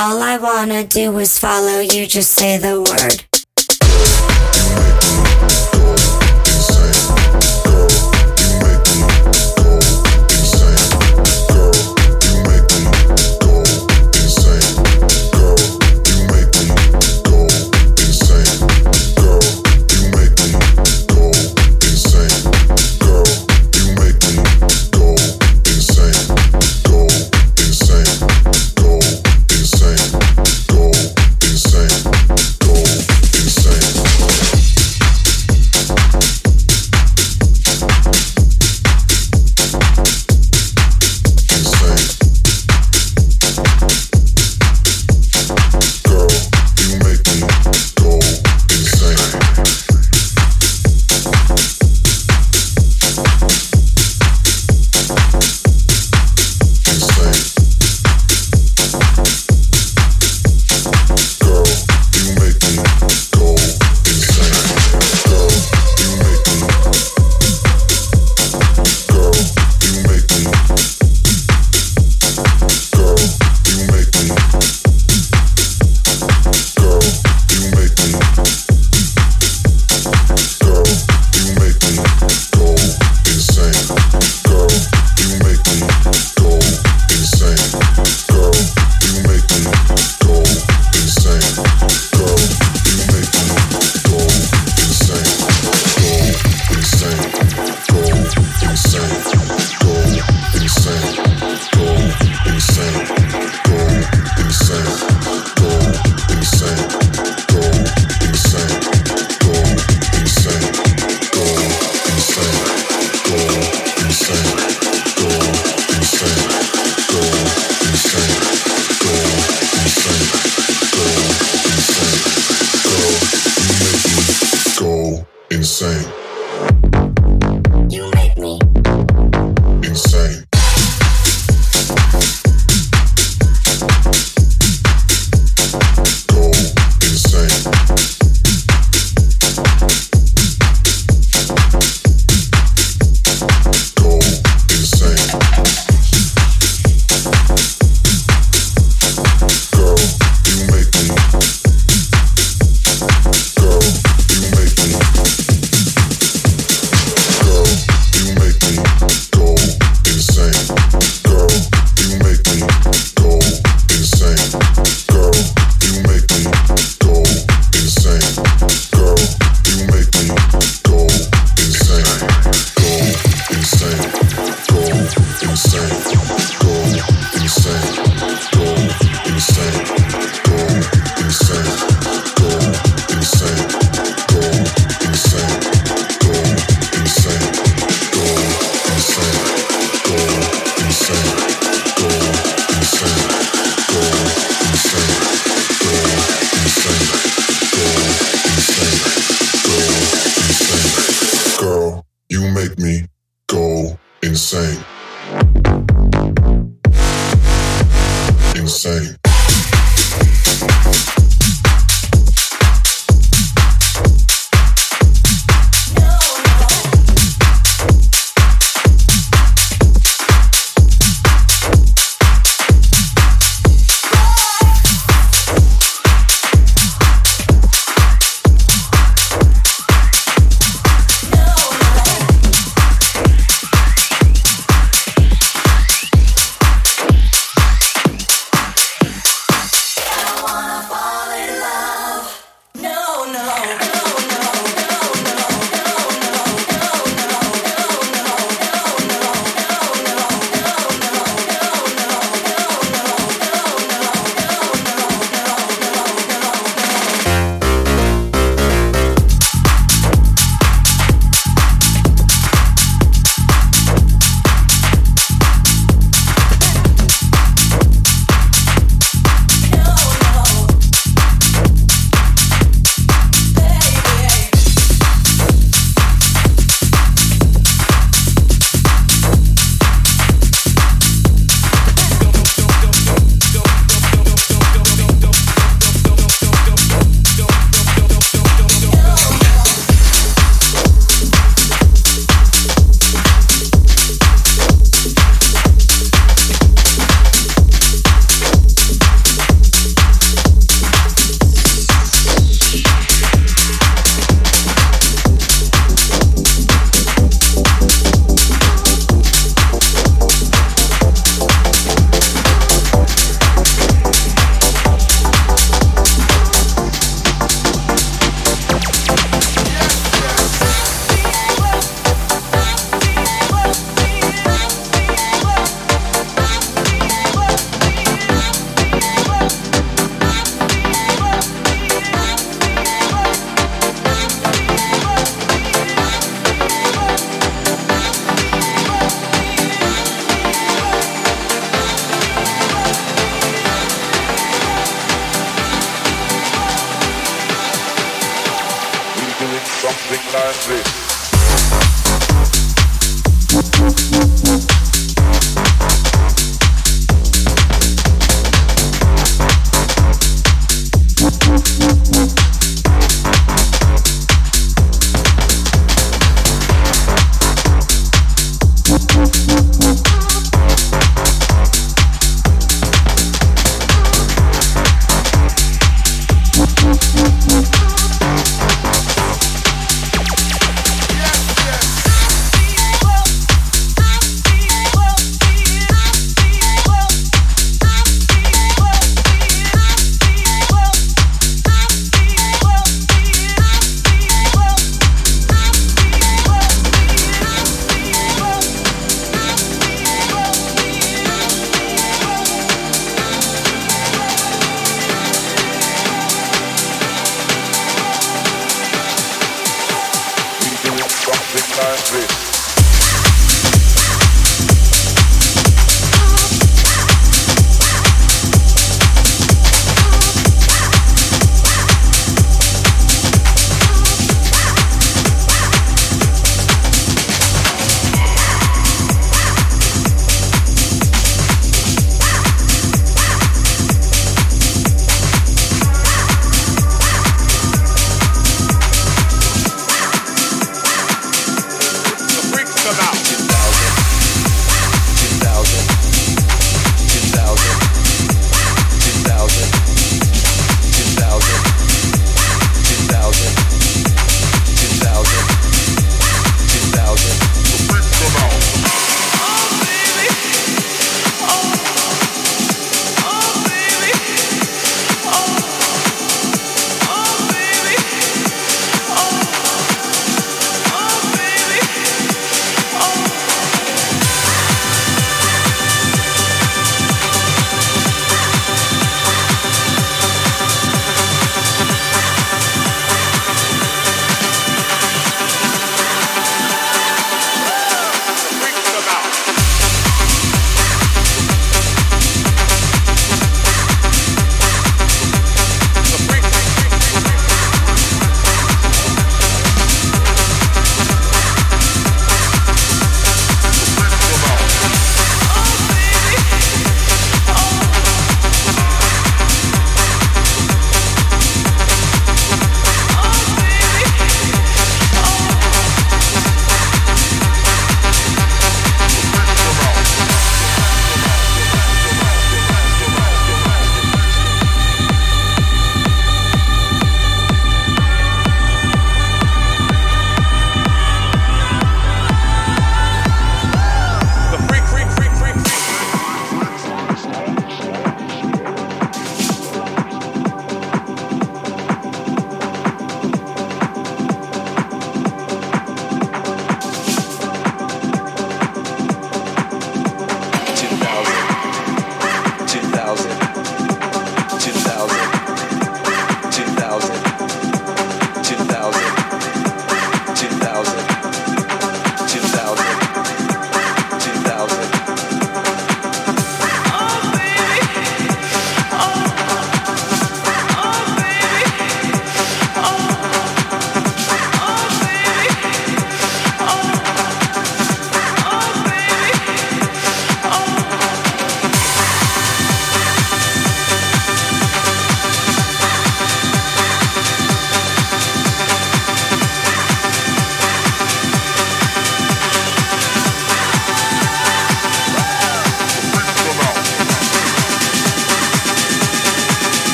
All I wanna do is follow you, just say the word.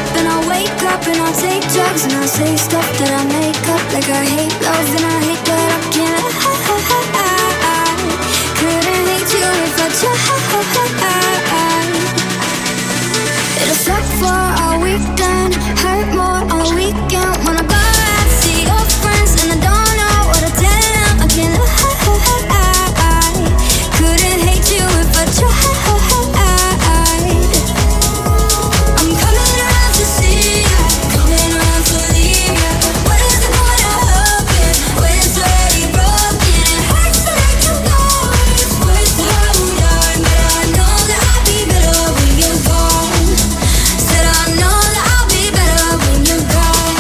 up and I wake up and I take drugs and I say stuff that I make up. Like I hate love and I hate that I can't. Couldn't hate you if I tried. It'll suck for a weekend, hurt more on a weekend. When I go out, see your friends and I don't know what to tell them. I can't lie. Couldn't hate you if I tried. I'm coming around to see ya, coming around to leave ya. What is the point of hoping when it's already broken? It hurts to let you go. It's worse to hold on, but I know that I'll be better when you're gone. Said I know that I'll be better when you're gone.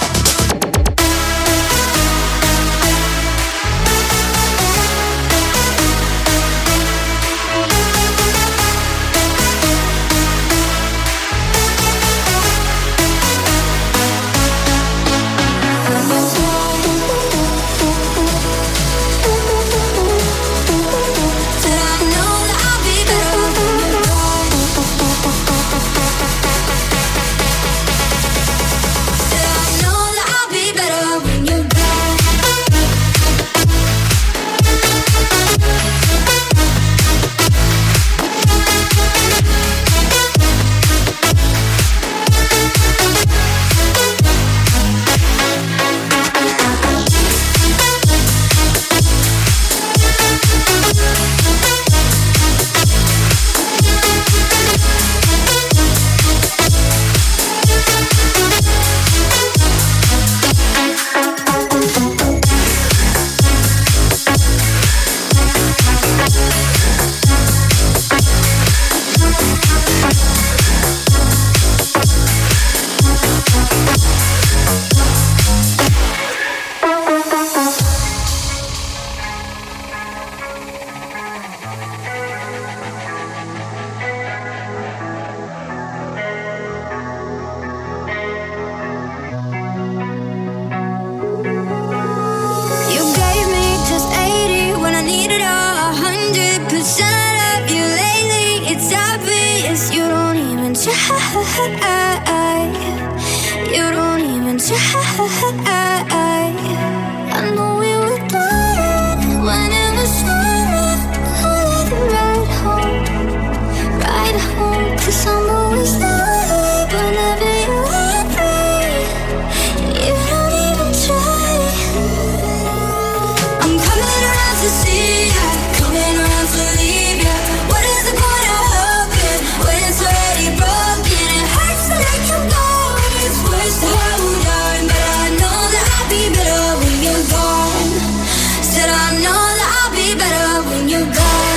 Said I know that I'll be better when you're gone. Said I know that I'll be better when you're gone. You gave me just 80 when I needed 100% of you lately. It's obvious you don't even try. You don't even try. I know we were done when it was summer. I'd ride home, 'cause I'm always there whenever you're free. You don't even try. I'm coming around to see ya, coming around to leave ya. What is the point of hoping when it's already broken? It hurts to let you go. It's worse to hold on, but I know that I'll be better when you're gone. Said I know that I'll be better when you're gone.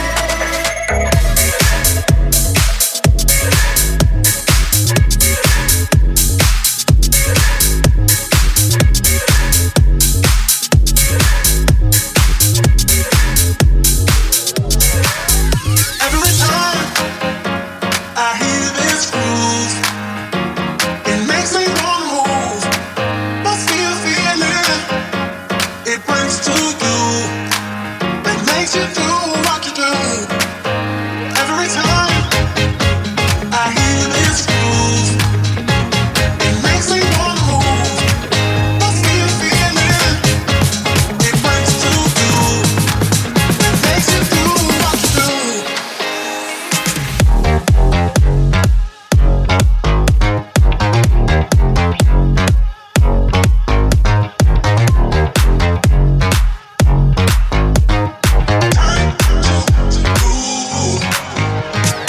Every time I hear this groove, it makes me wanna move. What's the feeling it brings to you? It makes you do what you do. Every time I hear this groove, it makes me wanna move. What's the feeling it brings to you? It makes you do what you do. Time to move.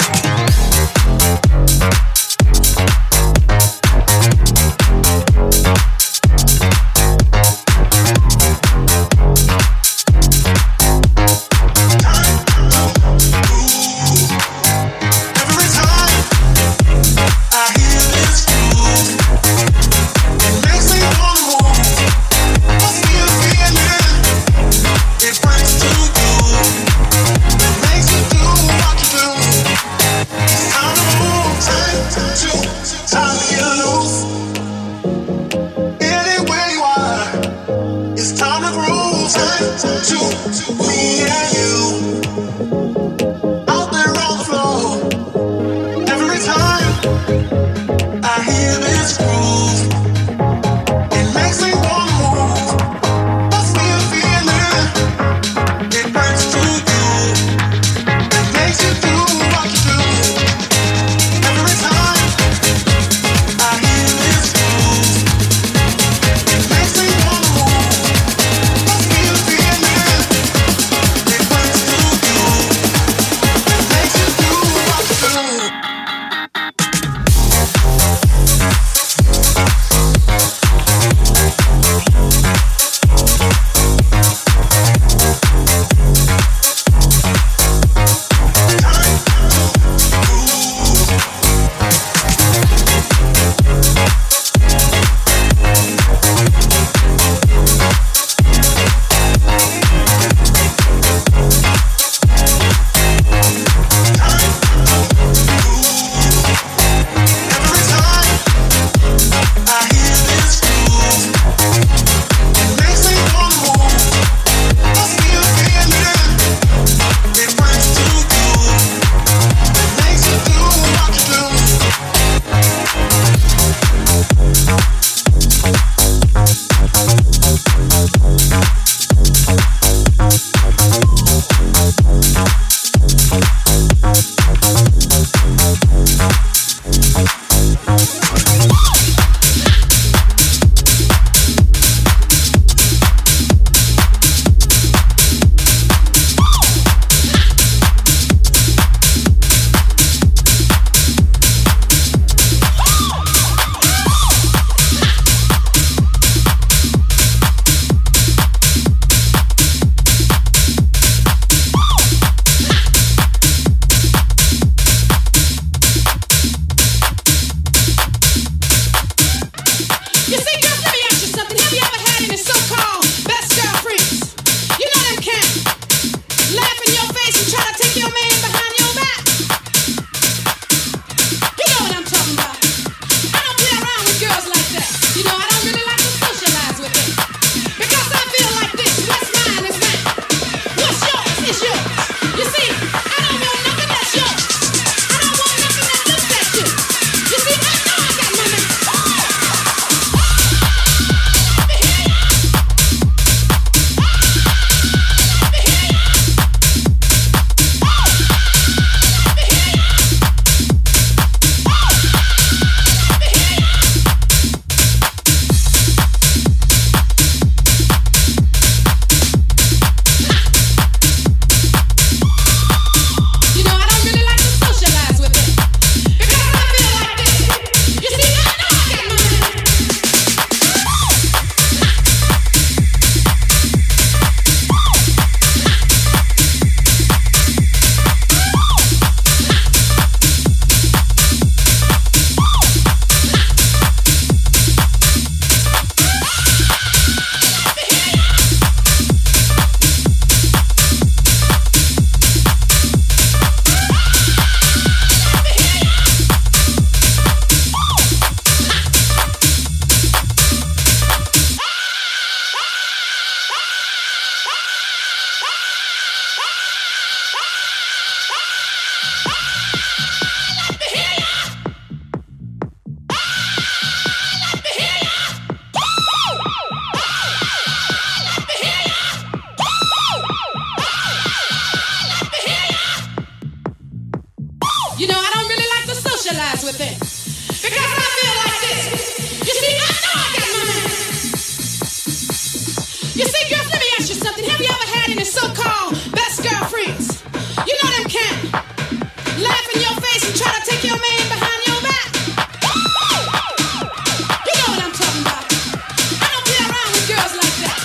You know, I don't really like to socialize with them. Because I feel like this. You see, I know I got my man. You see, girls, let me ask you something. Have you ever had any so-called best girlfriends? You know them can laugh in your face and try to take your man behind your back. You know what I'm talking about. I don't play around with girls like that.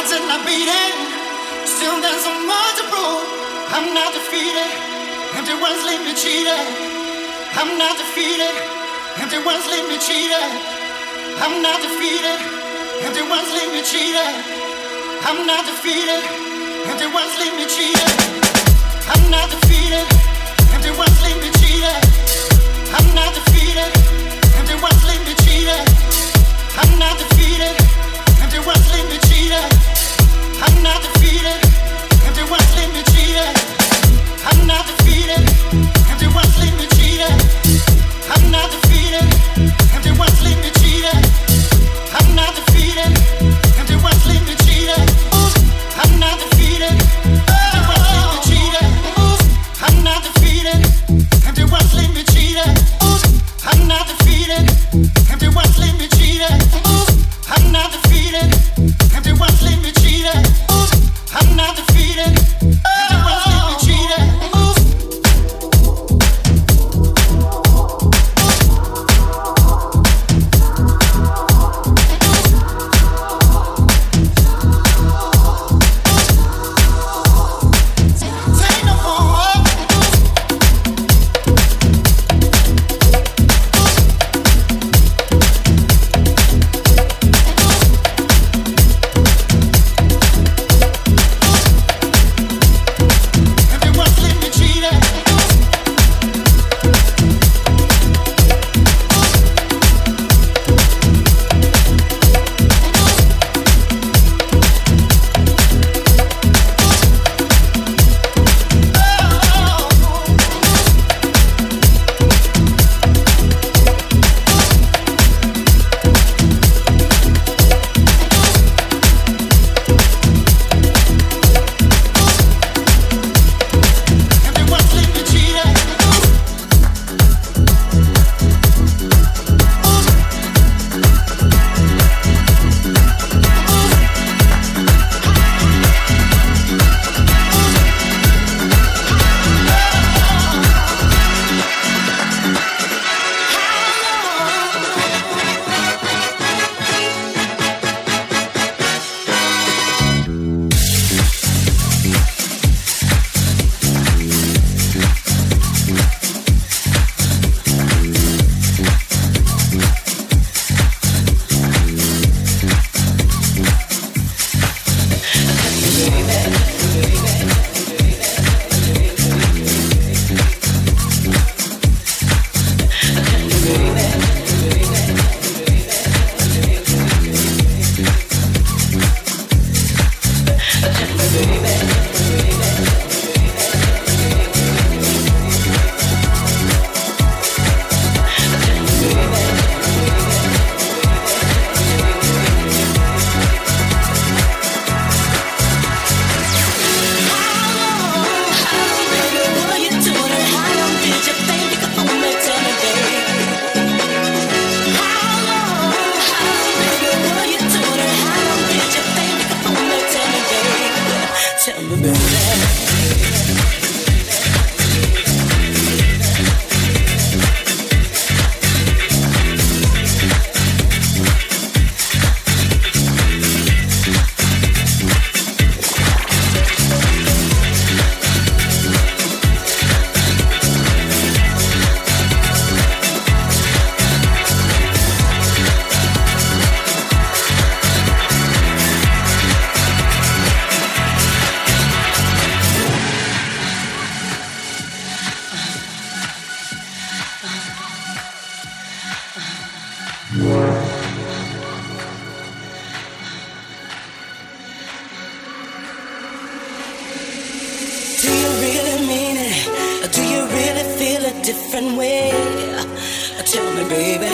heart's in my beating. Still there's so much to prove. I'm not defeated. Empty words leave me cheated. I'm not defeated. Empty words leave me cheated. I'm not defeated. Empty words leave me cheated. I'm not defeated. Empty words leave me cheated. I'm not defeated. Empty words leave me cheated. I'm not defeated. Empty words leave me cheated. I'm not defeated. Empty words leave me cheated. I'm not defeated. Empty words leave me cheated. I'm not defeated. Empty words leave me cheated. I'm not defeated. Empty words leave me cheated. I'm not defeated. Empty words leave me cheated. I'm not defeated. Empty words leave me cheated. I'm not defeated. Empty words leave me cheated. I'm not defeated. Empty words leave me cheated. I'm not defeated. Empty words leave me cheated. I'm not defeated. Empty words leave me cheated. different way. Tell me, baby,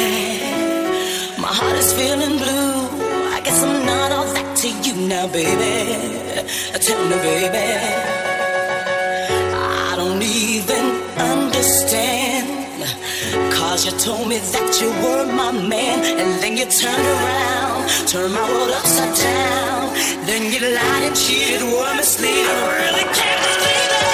my heart is feeling blue. I guess I'm not all that to you now, baby. Tell me, baby, I don't even understand. 'Cause you told me that you were my man, and then you turned around, turned my world upside down. Then you lied and cheated, were misleading. I really can't believe it.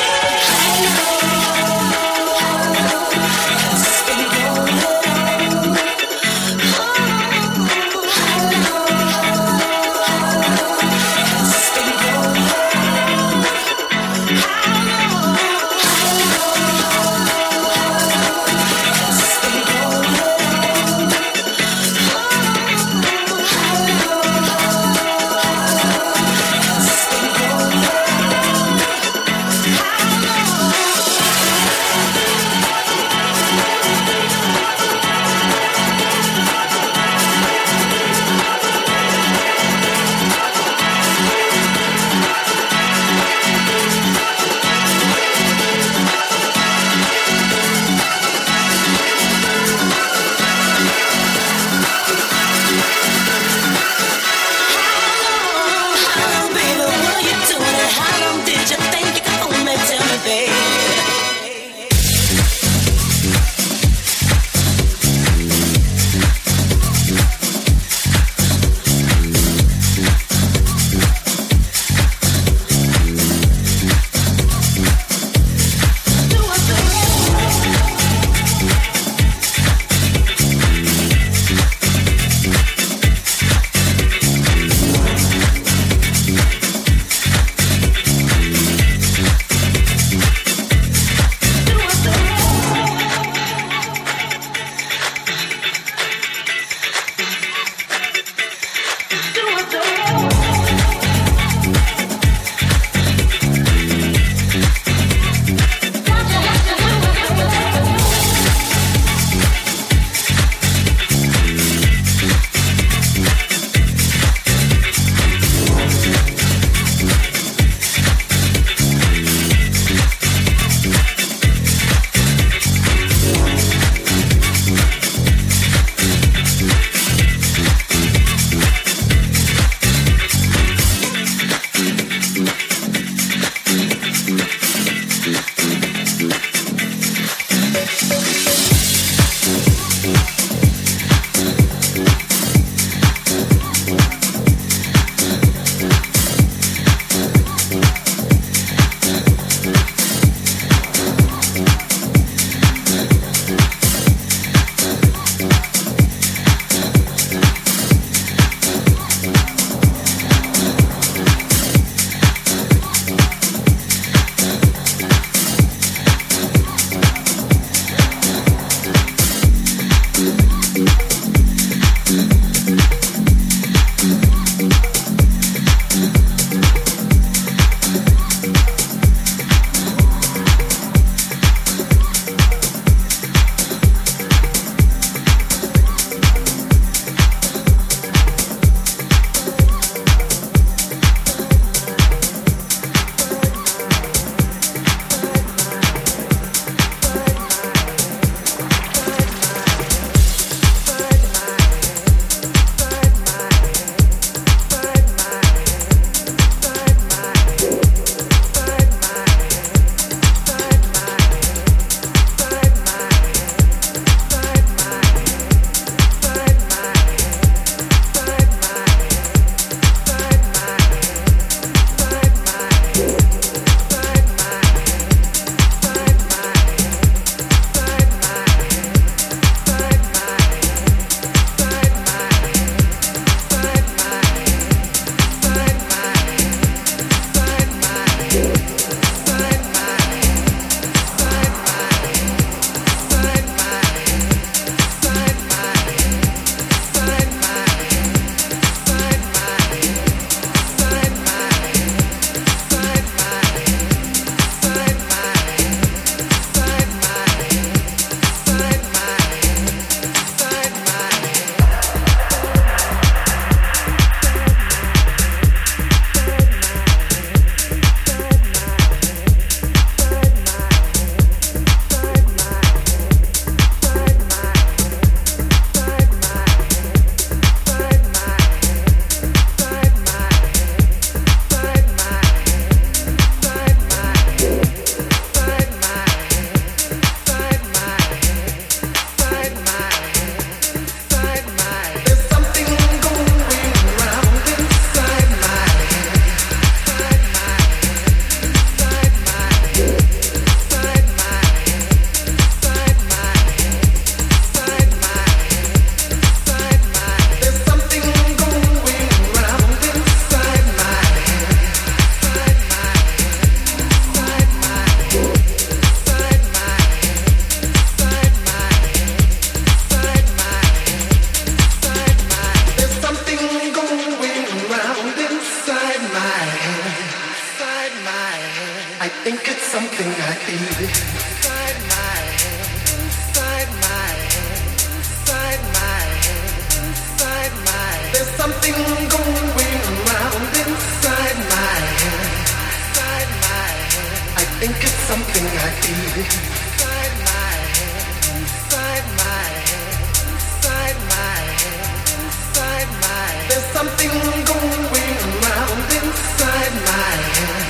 think it's something I feel inside my head, inside my head, inside my head, inside my head. There's something going around inside my head, inside my head. I think it's something I feel inside my head, inside my head, inside my head, inside my head. There's something going around inside my head.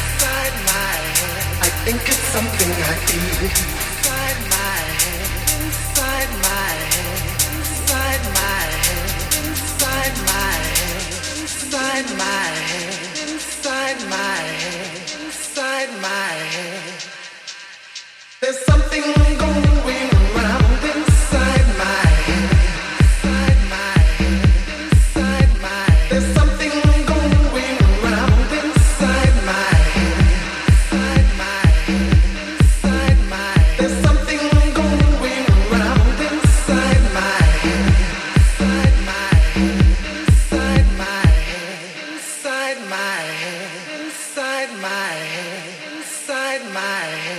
I think it's something I feel inside my head, inside my head, inside my head, inside my head, inside my head, inside my head, inside my head. There's something going around inside my head, inside my head, inside my head. There's something going around inside my head. There's something going around inside my head, inside my head, inside my head, inside my head, inside my head, inside my head.